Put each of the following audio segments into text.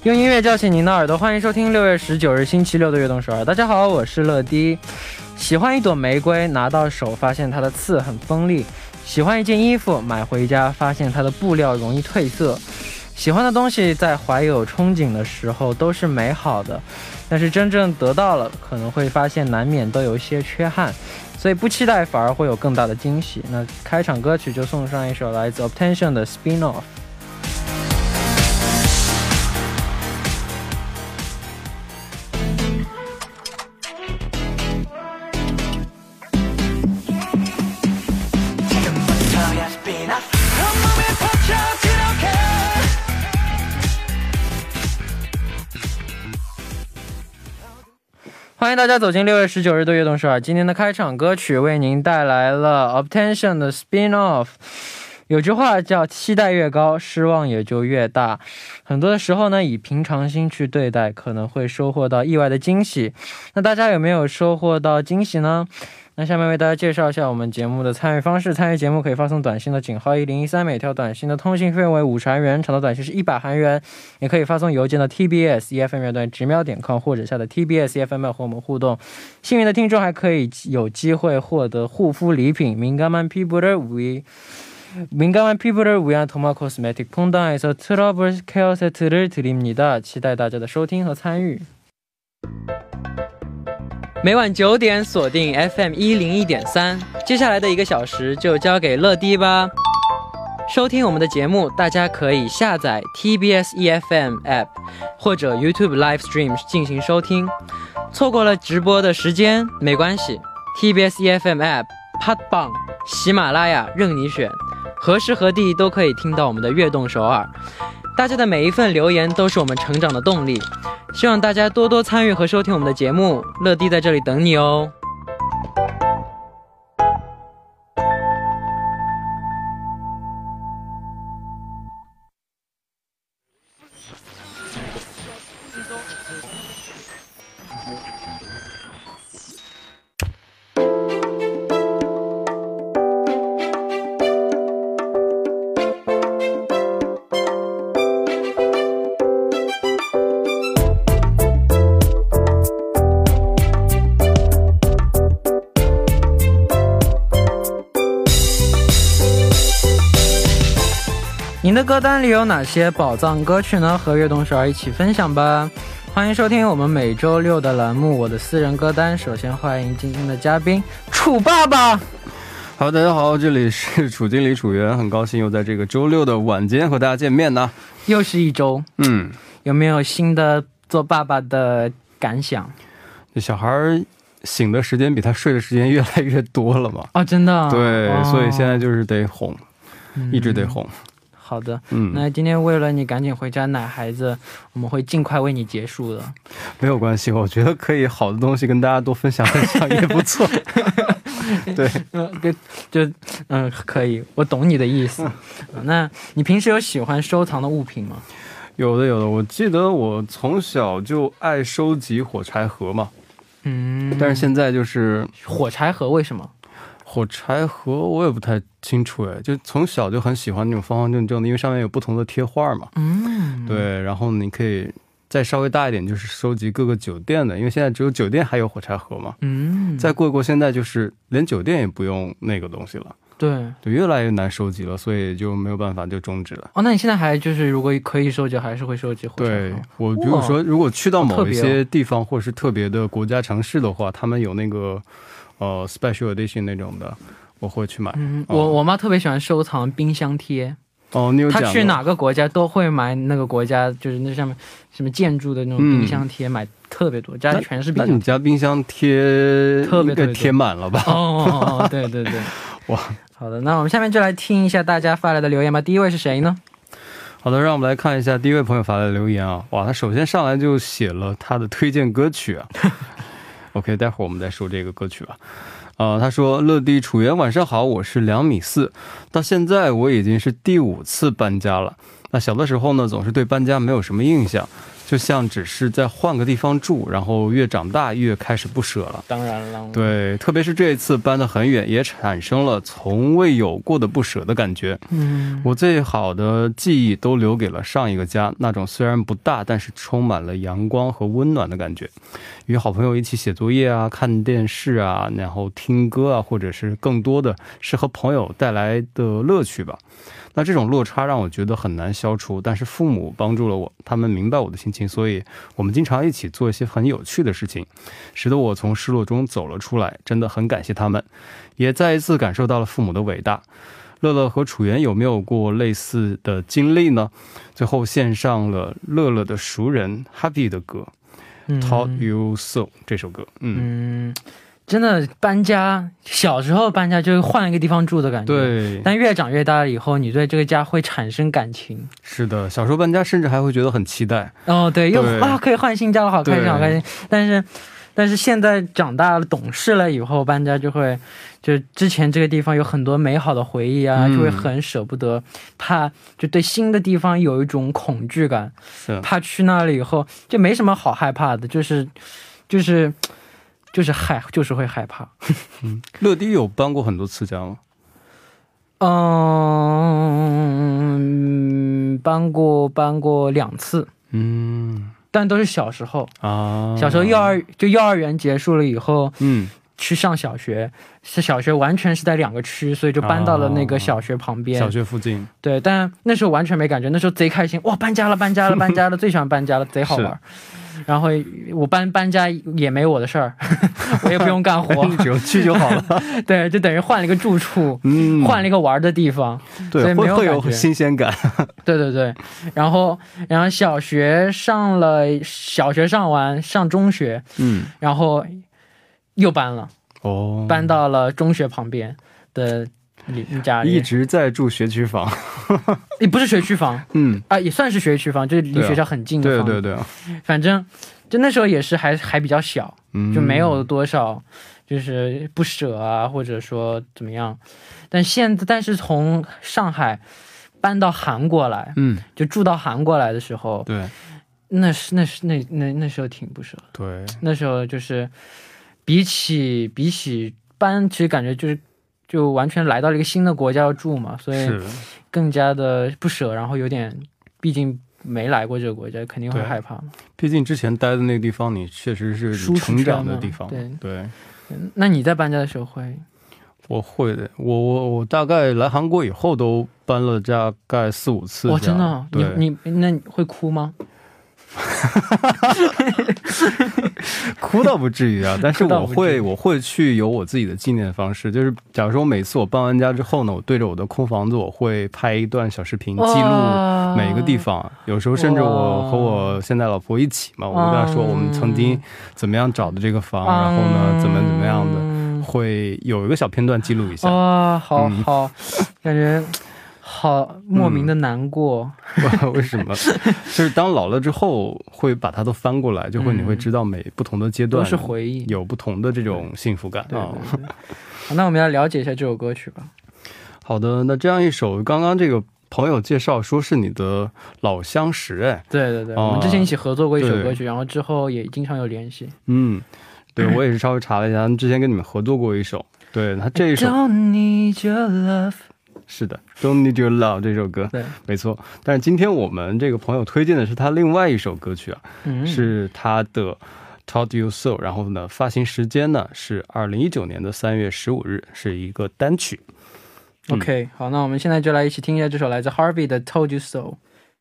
用音乐叫醒您的耳朵，欢迎收听6月19日星期六的悦动首尔。大家好，我是乐迪。喜欢一朵玫瑰，拿到手发现它的刺很锋利；喜欢一件衣服，买回家发现它的布料容易褪色。喜欢的东西在怀有憧憬的时候都是美好的，但是真正得到了，可能会发现难免都有一些缺憾，所以不期待反而会有更大的惊喜。那开场歌曲就送上一首来自 Obtention 的 Spin-Off。欢迎大家走进6月19日的悦动首尔。今天的开场歌曲为您带来了 Obtention 的 Spin-Off。 有句话叫期待越高，失望也就越大。很多的时候呢，以平常心去对待，可能会收获到意外的惊喜。那大家有没有收获到惊喜呢？那下面为大家介绍一下我们节目的参与方式。参与节目可以发送短信的井号1013，每条短信的通信费用为50韩元，长的短信是100韩元。也可以发送邮件的 tbs@efm.com 或者下载 TBS EFM 和我们互动。幸运的听众还可以有机会获得护肤礼品민감한 피부를 위한 도마 코스메틱 퐁당에서 트러블 케어 세트를 드립니다. 期待大家的收听和参与。每晚9点锁定 FM 101.3，接下来的1个小时就交给乐迪吧。收听我们的节目，大家可以下载 TBS EFM App 或者 YouTube Live Stream 进行收听。错过了直播的时间没关系， TBS EFM App、 팟빵、 喜马拉雅任你选，何时何地都可以听到我们的悦动首尔。大家的每一份留言都是我们成长的动力，希望大家多多参与和收听我们的节目，乐迪在这里等你哦。您的歌单里有哪些宝藏歌曲呢？和悦动首尔一起分享吧。欢迎收听我们每周六的栏目我的私人歌单。首先欢迎今天的嘉宾楚爸爸。 好，大家好，这里是楚经理楚源，很高兴又在这个周六的晚间和大家见面呢。 又是一周，有没有新的做爸爸的感想？ 这小孩醒的时间比他睡的时间越来越多了嘛。 哦，真的？ 对，所以现在就是得哄，一直得哄。 好的，那今天为了你赶紧回家奶孩子，我们会尽快为你结束的。 没有关系，我觉得可以好的东西跟大家多分享分享也不错。对， 可以，我懂你的意思。那你平时有喜欢收藏的物品吗？ 有的，我记得我从小就爱收集火柴盒嘛。但是现在就是火柴盒为什么？ 火柴盒我也不太清楚哎，就从小就很喜欢那种方方正正的，因为上面有不同的贴画嘛。对，然后你可以再稍微大一点，就是收集各个酒店的，因为现在只有酒店还有火柴盒嘛。再过现在就是连酒店也不用那个东西了。对，越来越难收集了，所以就没有办法就终止了。 那你现在还就是如果可以收集，还是会收集火柴盒？ 对，我比如说如果去到某一些地方或是特别的国家城市的话，他们有那个special edition 那种的，我会去买。 我妈特别喜欢收藏冰箱贴。 你有讲过？ 她去哪个国家都会买那个国家就是那上面什么建筑的那种冰箱贴，买特别多，家里全是冰箱贴。 那你家冰箱贴特别贴满了吧？ 对，哇，好的，那我们下面就来听一下大家发来的留言吧。第一位是谁呢？ 好的，让我们来看一下第一位朋友发来的留言啊。哇，他首先上来就写了他的推荐歌曲啊。OK， 待会儿我们再说这个歌曲吧。他说乐迪楚源晚上好，我是2.4米，到现在我已经是第5次搬家了。那小的时候呢，总是对搬家没有什么印象， 就像只是在换个地方住，然后越长大越开始不舍了。 当然了， 对，特别是这一次搬得很远，也产生了从未有过的不舍的感觉。我最好的记忆都留给了上一个家，那种虽然不大，但是充满了阳光和温暖的感觉。与好朋友一起写作业啊，看电视啊，然后听歌啊，或者是更多的是和朋友带来的乐趣吧。那这种落差让我觉得很难消除，但是父母帮助了我，他们明白我的心情，所以我们经常一起做一些很有趣的事情，使得我从失落中走了出来，真的很感谢他们，也再一次感受到了父母的伟大。乐乐和楚源有没有过类似的经历呢？最后献上了乐乐的熟人 Happy 的歌，Taught You So 这首歌。 真的搬家，小时候搬家就是换一个地方住的感觉， 对， 但越长越大了以后，你对这个家会产生感情。 是的，小时候搬家甚至还会觉得很期待。 对，又可以换新家了，好开心好开心。但是现在长大了懂事了以后，搬家就之前这个地方有很多美好的回忆啊，就会很舍不得，怕就对新的地方有一种恐惧感，怕去那里以后就没什么好害怕的，就是会害怕。 乐迪有搬过很多次家吗？ 搬过2次，但都是小时候啊。小时候幼儿园结束了以后，去上小学，小学完全是在2个区，所以就搬到了那个小学旁边， 小学附近。对， 但那时候完全没感觉，那时候贼开心，哇，搬家了，最喜欢搬家了，贼好玩。然后我搬家也没我的事儿，我也不用干活， 你只用去就好了。 对，就等于换了一个住处，换了一个玩的地方， 对，会有新鲜感。对， 然后小学上完上中学，然后又搬了，搬到了中学旁边的家里， 一直在住学区房。 也不是学区房，也算是学区房，就是离学校很近的房子。对，反正就那时候也是还比较小，就没有多少就是不舍啊，或者说怎么样。但是从上海搬到韩国来，就住到韩国来的时候，对，那时候挺不舍。对，那时候就是比起搬，其实感觉就完全来到了一个新的国家要住嘛，所以更加的不舍，然后有点，毕竟没来过这个国家，肯定会害怕嘛。 毕竟之前待的那个地方，你确实是你成长的地方。对。 那你在搬家的时候我会的，我大概来韩国以后都搬了大概4、5次。 哇，真的？那你会哭吗？ 哭倒不至于啊，但是我会去有我自己的纪念方式，就是假如说每次我搬完家之后呢，我对着我的空房子，我会拍一段小视频记录每个地方，有时候甚至我和我现在老婆一起嘛，我跟她说我们曾经怎么样找的这个房，然后呢怎么样的，会有一个小片段记录一下。 好，感觉好莫名的难过。 为什么？就是当老了之后会把它都翻过来，你会知道不同的阶段都是回忆， 有不同的这种幸福感。 对。好，那我们要了解一下这首歌曲吧。 好的，那这样一首，刚刚这个朋友介绍说是你的老相识。对，我们之前一起合作过一首歌曲，然后之后也经常有联系。 对，我也是稍微查了一下，之前跟你们合作过一首。对，他这一首 Don't Need Your Love， 是的 Don't Need Your Love 这首歌，对，没错。但是今天我们这个朋友推荐的是他另外一首歌曲啊，是他的 Taught You So， 然后呢发行时间呢是2019年的3月15日，是一个单曲。 OK， 好，那我们现在就来一起听一下这首来自 Harvey 的 Told You So。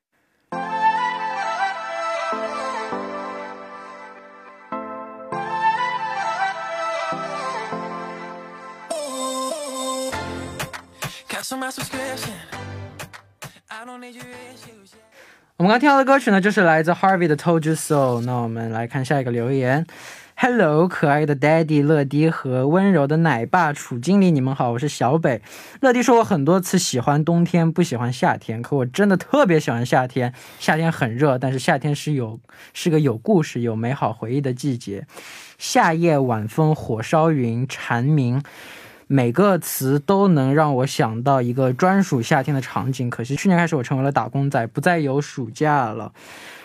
我们刚听到的歌曲呢，就是来自 Harvey 的 Told You So。 那我们来看下一个留言。 Hello， 可爱的 Daddy 乐迪和温柔的奶爸楚经理，你们好，我是小北。乐迪说我很多次喜欢冬天不喜欢夏天，可我真的特别喜欢夏天。夏天很热，但是夏天是个有故事有美好回忆的季节。夏夜晚风火烧云蝉鸣，每个词都能让我想到一个专属夏天的场景。可惜去年开始我成为了打工仔，不再有暑假了。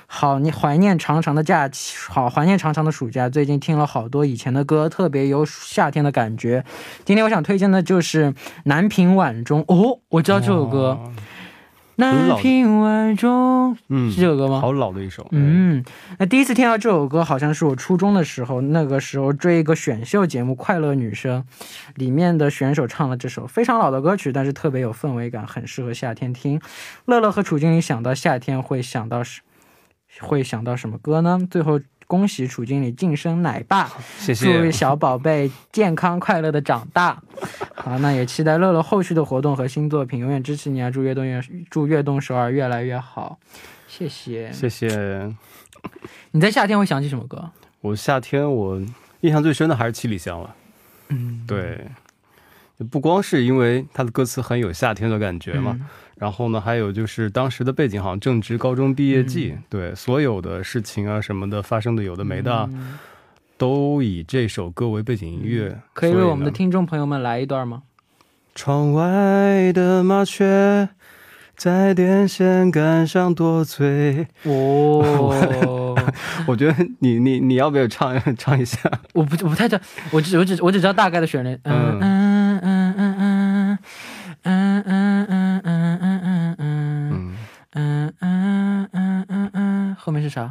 好，你怀念长长的假期，好怀念长长的暑假。最近听了好多以前的歌，特别有夏天的感觉。今天我想推荐的就是南屏晚钟。哦，我知道这首歌。南屏晚钟，是这首歌吗？ 好老的一首。 那第一次听到这首歌，好像是我初中的时候，那个时候追一个选秀节目《快乐女声》，里面的选手唱了这首非常老的歌曲，但是特别有氛围感，很适合夏天听。乐乐和楚经理想到夏天会想到什么歌呢？最后恭喜楚经理晋升奶爸， 谢谢， 祝小宝贝健康快乐的长大。好，那也期待乐乐后续的活动和新作品，永远支持你啊！祝悦动首尔越来越好，谢谢， 谢谢。 你在夏天会想起什么歌？ 我夏天我印象最深的还是七里香了。对，不光是因为它的歌词很有夏天的感觉嘛。然后呢，还有就是当时的背景好像正值高中毕业季，对，所有的事情啊什么的发生的有的没的，都以这首歌为背景音乐。 可以为我们的听众朋友们来一段吗？ 窗外的麻雀在电线杆上多嘴。我觉得你要不要唱一下？ 我不太知道，我只知道大概的旋律。后面是啥？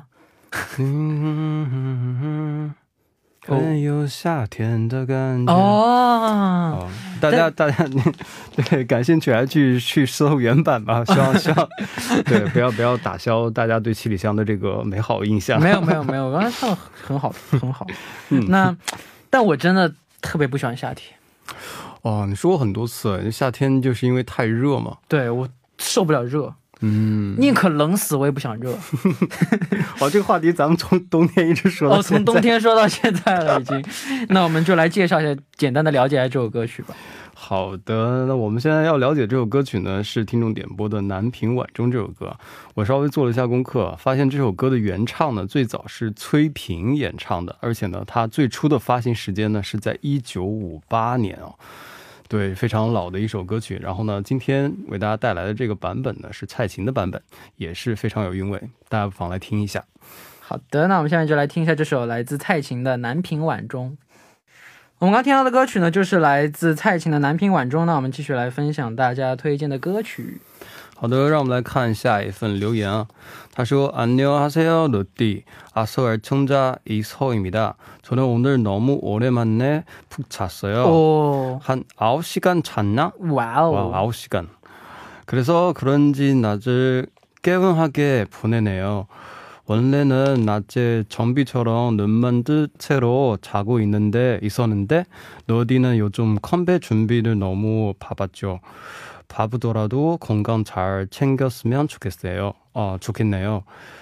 很有夏天的感觉。大家对感兴趣还去搜原版吧。希望对不要打消大家对七里香的这个美好印象。 没有，我刚才唱的很好。但我真的特别不喜欢夏天。 你说过很多次，夏天就是因为太热嘛。 对，我受不了热。宁可冷死我也不想热。 这个话题咱们从冬天一直说到现在。 从冬天说到现在了已经。那我们就来介绍一下，简单的了解一下这首歌曲吧。 好的，那我们现在要了解这首歌曲呢，是听众点播的《南屏晚钟》这首歌。我稍微做了一下功课，发现这首歌的原唱呢，最早是崔萍演唱的，而且呢，它最初的发行时间呢是在1958年哦。对，非常老的一首歌曲。然后呢，今天为大家带来的这个版本呢，是蔡琴的版本，也是非常有韵味，大家不妨来听一下。 好的，那我们下面就来听一下这首来自蔡琴的《南屏晚钟》。我们刚听到的歌曲呢，就是来自蔡琴的《南屏晚钟》。那我们继续来分享大家推荐的歌曲。 好的，让我们来看下一份留言啊。他说안녕하세요 러디 아서 애청자 이서입니다. 저는 오늘 너무 오랜만에 푹 잤어요. 한 9시간 잤나? 와우. 9시간. 그래서 그런지 낮을 개운하게 보내네요. 원래는 낮에 좀비처럼 눈만 뜬 채로 자고 있었는데 러디는 요즘 컴백 준비를 너무 바빴죠. 바쁘더라도 건강 잘 챙겼으면 좋겠네요.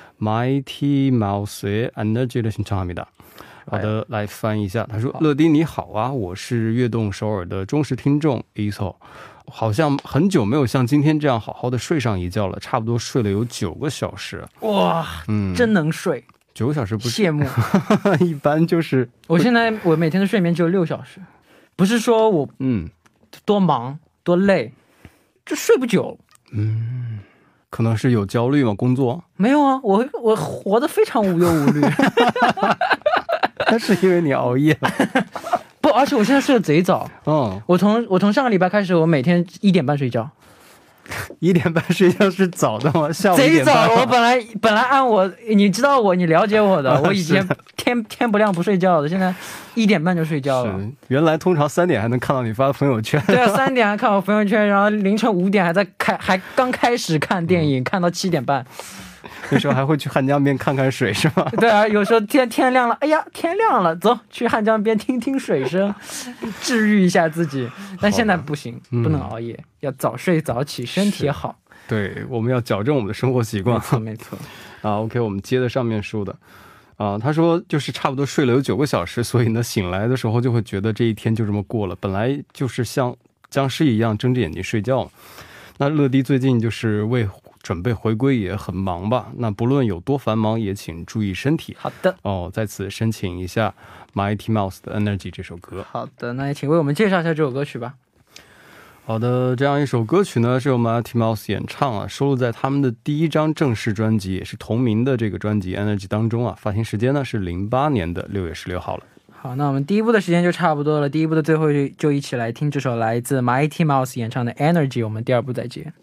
마이티 마우스의 에너지를 신청합니다. 好的，来翻译一下。他说：“乐迪你好啊，我是悦动首尔的忠实听众 Iso， 好像很久没有像今天这样好好的睡上一觉了，差不多睡了有9个小时。哇，真能睡，9个小时不是羡慕，一般就是我每天的睡眠只有6小时，不是说我多忙多累，就睡不久。可能是有焦虑吗？工作没有啊，我活得非常无忧无虑。那是因为你熬夜了。不，而且我现在睡得贼早。我从上个礼拜开始，我每天1点半睡觉。1点半睡觉是早的吗？下午1点半。贼早，我本来按我，你知道我，你了解我的，我以前天不亮不睡觉的，现在1点半就睡觉了。原来通常3点还能看到你发的朋友圈。对啊，3点还看我朋友圈，然后凌晨5点还刚开始看电影，看到7点半。那时候还会去汉江边看看水是吗？对啊，有时候天亮了，哎呀天亮了，走去汉江边听听水声，治愈一下自己。但现在不行，不能熬夜，要早睡早起，身体好。对，我们要矫正我们的生活习惯。没错。OK， 我们接着上面说的。他说就是差不多睡了有9个小时，所以呢醒来的时候就会觉得这一天就这么过了，本来就是像僵尸一样睁着眼睛睡觉。那乐迪最近就是为准备回归也很忙吧，那不论有多繁忙也请注意身体。好的。在此申请一下 Mighty Mouse 的 Energy 这首歌。好的，那也请为我们介绍一下这首歌曲吧。 好的，这样一首歌曲呢是由 Mighty Mouse 演唱啊，收录在他们的第一张正式专辑，也是同名的这个专辑 Energy 当中啊，发行时间呢是08年的6月16号了。 好，那我们第一部的时间就差不多了，第一部的最后就一起来听这首来自 Mighty Mouse 演唱的 Energy， 我们第二部再见。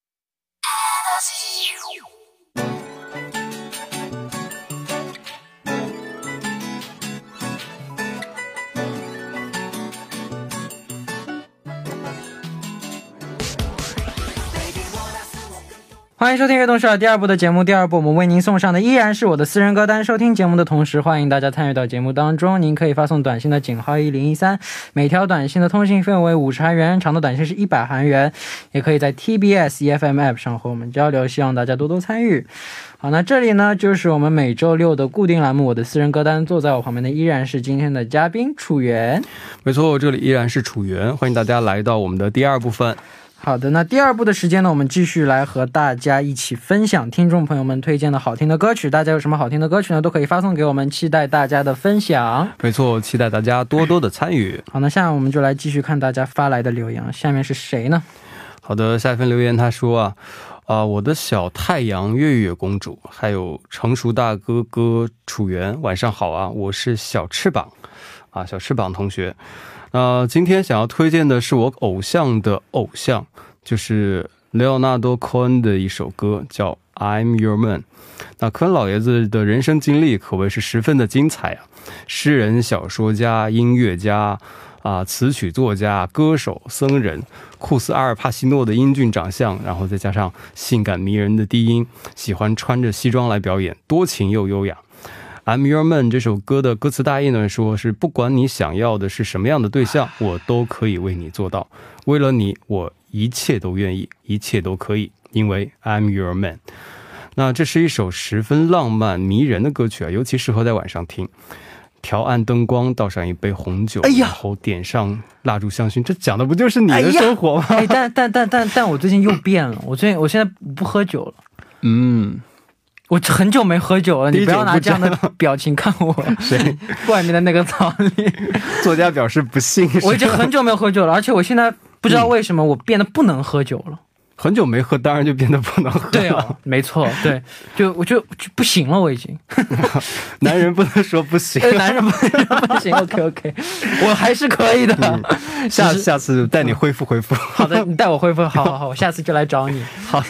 欢迎收听悦动首尔第二部的节目，第二部我们为您送上的依然是我的私人歌单。收听节目的同时，欢迎大家参与到节目当中，您可以发送短信的井号1013，每条短信的通信费为50韩元，长的短信是100韩元，也可以在 TBS EFM App 上和我们交流，希望大家多多参与。好，那这里呢就是我们每周六的固定栏目，我的私人歌单，坐在我旁边的依然是今天的嘉宾楚源。 没错，这里依然是楚源，欢迎大家来到我们的第二部分。 好的，那第二部的时间呢，我们继续来和大家一起分享听众朋友们推荐的好听的歌曲。大家有什么好听的歌曲呢，都可以发送给我们，期待大家的分享。 没错，期待大家多多的参与。 好，那下面我们就来继续看大家发来的留言，下面是谁呢？ 好的，下一份留言他说我的小太阳月月公主，还有成熟大哥哥楚源，晚上好啊，我是小翅膀小翅膀同学。今天想要推荐的是我偶像的偶像，就是雷奥纳多·科恩的一首歌，叫 I'm Your Man。 那科恩老爷子的人生经历可谓是十分的精彩啊，诗人、小说家、音乐家词曲作家、歌手、僧人，酷似阿尔帕西诺的英俊长相，然后再加上性感迷人的低音，喜欢穿着西装来表演，多情又优雅。I'm Your Man 这首歌的歌词大意呢，说是不管你想要的是什么样的对象，我都可以为你做到，为了你我一切都愿意，一切都可以，因为 I'm Your Man。 那这是一首十分浪漫迷人的歌曲啊，尤其适合在晚上听。调暗灯光，倒上一杯红酒，然后点上蜡烛香薰，这讲的不就是你的生活吗？ 但我最近又变了，我现在不喝酒了。我很久没喝酒了，你不要拿这样的表情看我。 谁？ 外面的那个草里。 作家表示不信。 我已经很久没有喝酒了，而且我现在不知道为什么我变得不能喝酒了。 很久没喝，当然就变得不能喝了。 对啊，没错，对，我就不行了，我已经。 男人不能说不行， 男人不能说不行。OK， 我还是可以的。 下次带你恢复。 好的，你带我恢复，好，我下次就来找你。好。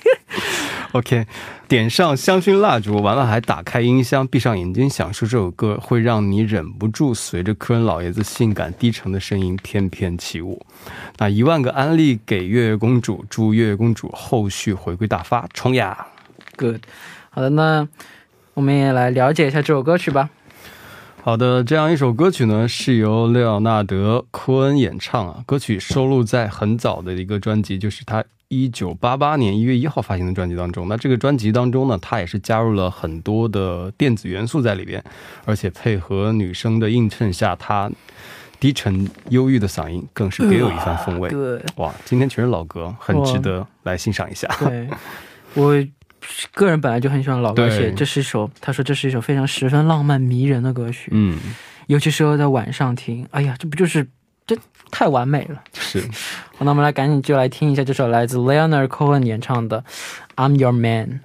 OK， 点上香薰蜡烛，完了还打开音箱，闭上眼睛享受这首歌，会让你忍不住随着科恩老爷子性感低沉的声音翩翩起舞。那1万个安利给月月公主，祝月月公主后续回归大发，冲呀 ！Good， 好的，那我们也来了解一下这首歌曲吧。 好的，这样一首歌曲呢，是由雷奥纳德·科恩演唱啊。歌曲收录在很早的一个专辑，就是他1988年1月1号发行的专辑当中。那这个专辑当中呢，他也是加入了很多的电子元素在里边，而且配合女生的映衬下，他低沉忧郁的嗓音更是别有一番风味。哇，今天全是老歌，很值得来欣赏一下。 对，我个人本来就很喜欢老歌，而且他说这是一首非常十分浪漫迷人的歌曲。尤其适合在晚上听。哎呀，这太完美了。 是。 好，那我们来赶紧就来听一下这首来自 Leonard Cohen 演唱的 I'm Your Man。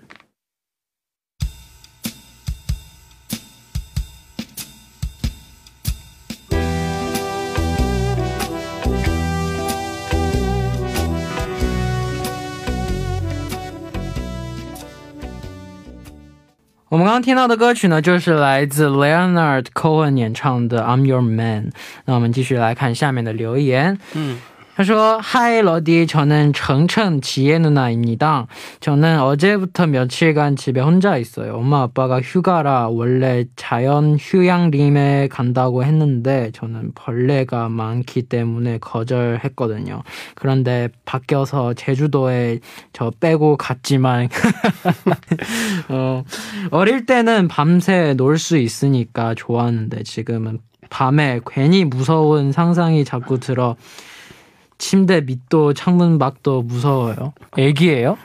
我们刚刚听到的歌曲呢，就是来自 Leonard Cohen 演唱的 I'm Your Man。 那我们继续来看下面的留言。他说Hi 러디, 저는 정천 지혜 누나입니다. 저는 어제부터 며칠간 집에 혼자 있어요. 엄마 아빠가 휴가라 원래 자연 휴양림에 간다고 했는데 저는 벌레가 많기 때문에 거절했거든요. 그런데 바뀌어서 제주도에 저 빼고 갔지만 어릴 때는 밤새 놀 수 있으니까 좋았는데 지금은 밤에 괜히 무서운 상상이 자꾸 들어 침대 밑도 창문 밖도 무서워요. 애기예요?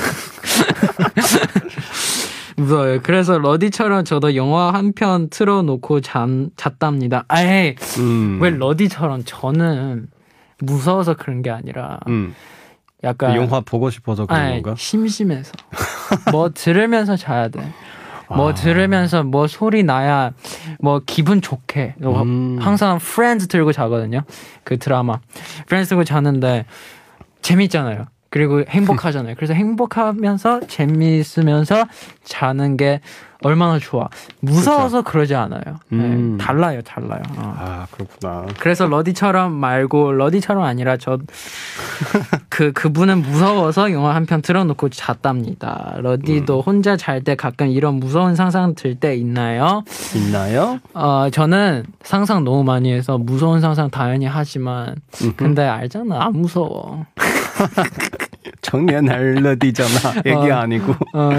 무서워요. 그래서 러디처럼 저도 영화 한 편 틀어놓고 잤답니다. 에이, 왜 러디처럼? 저는 무서워서 그런 게 아니라 약간 영화 보고 싶어서 그런 건가? 심심해서 뭐 들으면서 자야 돼. 뭐 들으면서 뭐 소리 나야 뭐 기분 좋게. 항상 프렌즈 들고 자거든요. 그 드라마 프렌즈 들고 자는데 재밌잖아요. 그리고 행복하잖아요. 그래서 행복하면서 재미있으면서 자는 게 얼마나 좋아. 무서워서 그러지 않아요. 네, 달라요. 아, 그렇구나. 그래서 러디처럼 말고, 러디처럼 아니라 그분은 무서워서 영화 한 편 틀어놓고 잤답니다. 러디도 혼자 잘 때 가끔 이런 무서운 상상 들 때 있나요? 저는 상상 너무 많이 해서 무서운 상상 당연히 하지만 근데 알잖아, 안 무서워. 청년할 러디잖아. 얘기 아니고.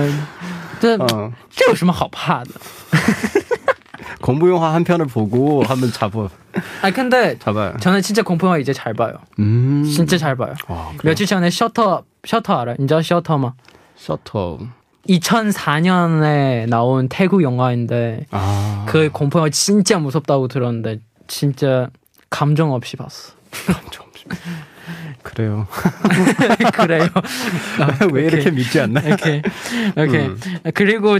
这有什么好怕的? 공부 영화 한 편을 보고 한번 잡아. 근데 잡아요. 저는 진짜 공포 영화 이제 잘 봐요. 진짜 잘 봐요. 며칠 전에 셔터 알아요? 인자 셔터마. 셔터. 2004년에 나온 태국 영화인데 그 공포 영화 진짜 무섭다고 들었는데 진짜 감정 없이 봤어. 감정 없이. 그래요. 그래요. 왜 이렇게 믿지 않나? 오케이. 그리고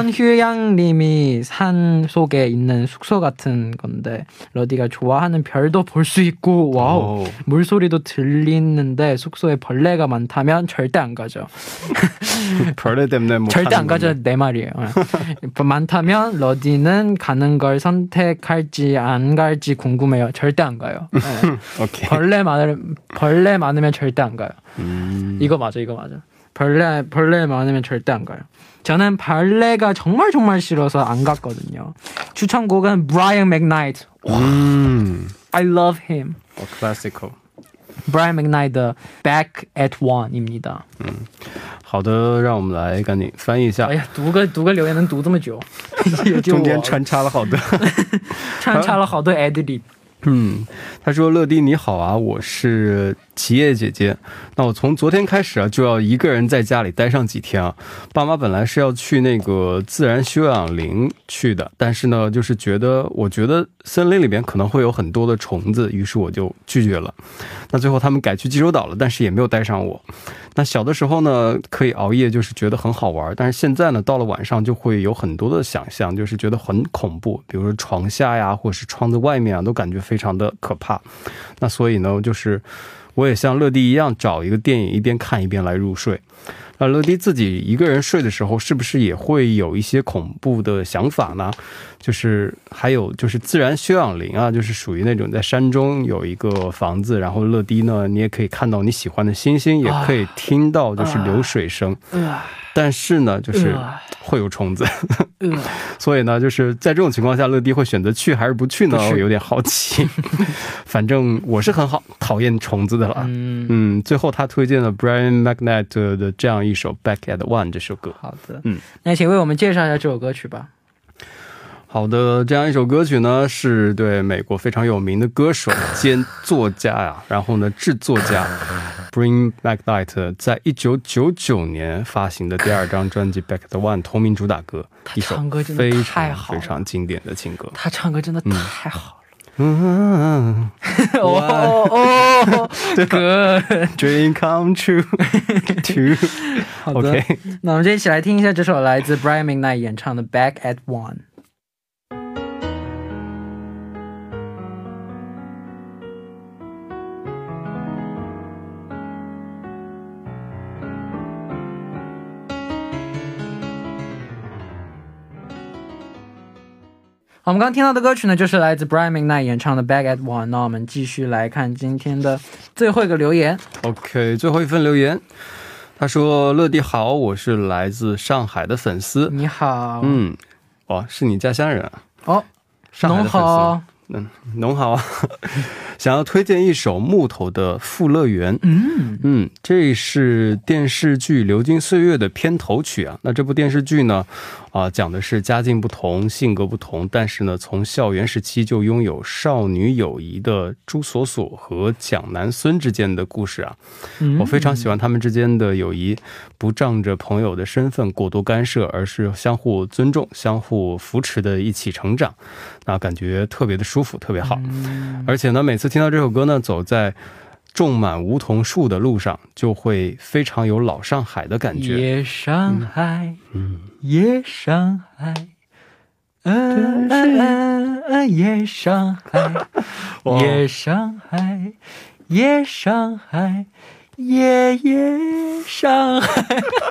자연휴양림이 산 속에 있는 숙소 같은 건데 러디가 좋아하는 별도 볼 수 있고 와우 물소리도 들리는데 숙소에 벌레가 많다면 절대 안 가죠. 벌레 때문에 뭐 절대 안 가죠. 내 말이에요. 많다면 러디는 가는 걸 선택할지 안 갈지 궁금해요. 절대 안 가요. 네. 오케이. 벌레 많으면 절대 안 가요. 이거 맞아. 벌레 많으면 절대 안 가요. 저는 벌레가 정말 싫어서 안 갔거든요. 추천곡은 Brian McKnight. I love him. 클래시컬. Brian McKnight 的 Back at One입니다. 好的，让我们来赶紧翻译一下。 哎呀，读个留言能读这么久， 中间穿插了好多 adlib。 他说乐迪你好啊，我是齐叶姐姐。那我从昨天开始啊，就要一个人在家里待上几天啊。爸妈本来是要去那个自然休养林去的，但是呢，就是我觉得森林里面可能会有很多的虫子，于是我就拒绝了。那最后他们改去济州岛了，但是也没有带上我。那小的时候呢，可以熬夜，就是觉得很好玩，但是现在呢，到了晚上就会有很多的想象，就是觉得很恐怖，比如说床下呀，或是窗子外面啊，都感觉非常的可怕。那所以呢，就是我也像乐迪一样，找一个电影一边看一边来入睡。那乐迪自己一个人睡的时候，是不是也会有一些恐怖的想法呢？就是还有就是自然休养林啊，就是属于那种在山中有一个房子，然后乐迪呢，你也可以看到你喜欢的星星，也可以听到就是流水声，但是呢，就是会有虫子，所以呢，就是在这种情况下，乐迪会选择去还是不去呢？我有点好奇。反正我是很讨厌虫子的了。最后他推荐了 Brian McKnight 的这样一首 Back at One 这首歌。好的，那请为我们介绍一下这首歌曲吧。好的，这样一首歌曲呢，是对美国非常有名的歌手兼作家呀，然后呢制作家 Brian McKnight 在1999年发行的第二张专辑 Back at One 同名主打歌，一首非常经典的情歌。他唱歌真的太好了。Dream come true。好的，那我们就一起来听一下这首来自 Brian McKnight 演唱的 Back at One。我们刚刚听到的歌曲呢，就是来自 Brian McKnight 演唱的 Back at One。 那我们继续来看今天的最后一个留言。 OK， 最后一份留言，他说乐迪好，我是来自上海的粉丝。你好。哇，是你家乡人啊。哦，上海的粉丝。农好啊。想要推荐一首木头的富乐园。这是电视剧流金岁月的片头曲啊。那这部电视剧呢讲的是家境不同性格不同，但是呢从校园时期就拥有少女友谊的朱锁锁和蒋南孙之间的故事啊。我非常喜欢他们之间的友谊，不仗着朋友的身份过多干涉，而是相互尊重相互扶持的一起成长，那感觉特别的舒服特别好。而且呢每次听到这首歌呢，走在种满梧桐树的路上，就会非常有老上海的感觉。 夜上海，夜上海，夜上海，夜上海，夜上海，夜上海。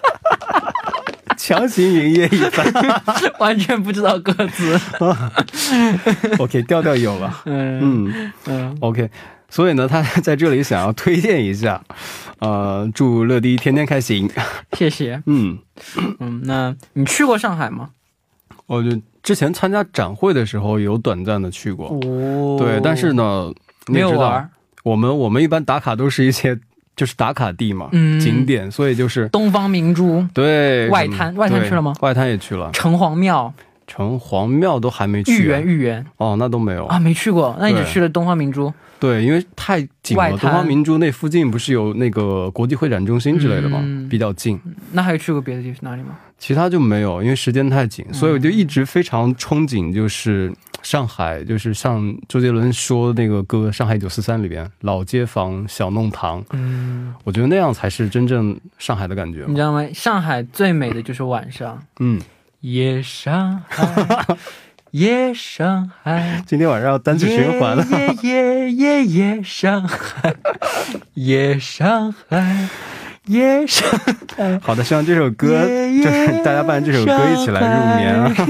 强行营业一番。 完全不知道歌词。 OK， 调调有了。OK， 所以呢，他在这里想要推荐一下，祝乐迪天天开心。 谢谢。那你去过上海吗？ 我就之前参加展会的时候有短暂的去过。对，但是呢， 没有玩。 我们一般打卡都是一些。就是打卡地嘛，景点，所以就是东方明珠， 对， 外滩去了吗？ 外滩也去了， 城隍庙都还没去，豫园哦，那都没有啊， 没去过，那你只去了东方明珠。 对，因为太近了，东方明珠那附近不是有那个国际会展中心之类的吗？比较近。 那还有去过别的地方哪里吗？ 其他就没有，因为时间太紧，所以我就一直非常憧憬，就是上海，就是像周杰伦说那个歌《上海943》里边老街坊小弄堂，我觉得那样才是真正上海的感觉。 你知道吗？上海最美的就是晚上。夜上海，夜上海， 今天晚上要单曲循环了。 夜上海，夜上海，夜上海。好的，希望这首歌就是大家伴这首歌一起来入眠啊。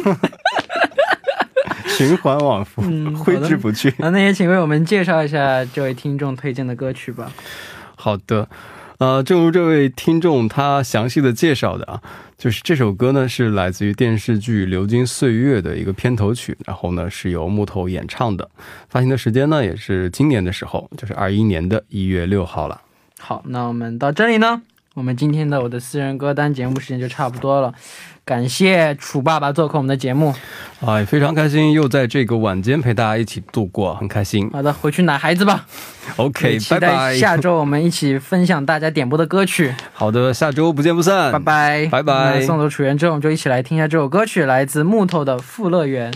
循环往复，挥之不去。 那也请为我们介绍一下这位听众推荐的歌曲吧。 好的，正如这位听众他详细的介绍的啊，就是这首歌呢是来自于电视剧《流金岁月》的一个片头曲，然后呢是由木头演唱的，发行的时间呢也是今年的时候，就是21年的1月6号了。 好，那我们到这里呢，我们今天的我的私人歌单节目时间就差不多了。感谢楚爸爸做客我们的节目， 也非常开心又在这个晚间陪大家一起度过，很开心。 好的，回去奶孩子吧。 OK， 期待下周我们一起分享大家点播的歌曲。 好的，下周不见不散， 拜拜拜拜。 送走楚原之后，我们就一起来听一下这首歌曲，来自木头的《富乐园》。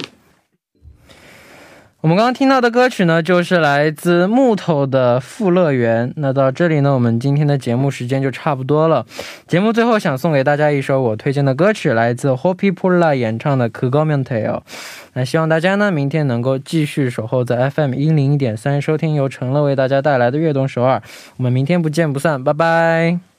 我们刚刚听到的歌曲呢，就是来自木头的《富乐园》。那到这里呢，我们今天的节目时间就差不多了。节目最后想送给大家一首我推荐的歌曲，来自 Hopi Pula 演唱的《그거면 돼요》。那希望大家呢，明天能够继续守候在 FM 101.3收听由陈乐为大家带来的悦动首尔。我们明天不见不散，拜拜。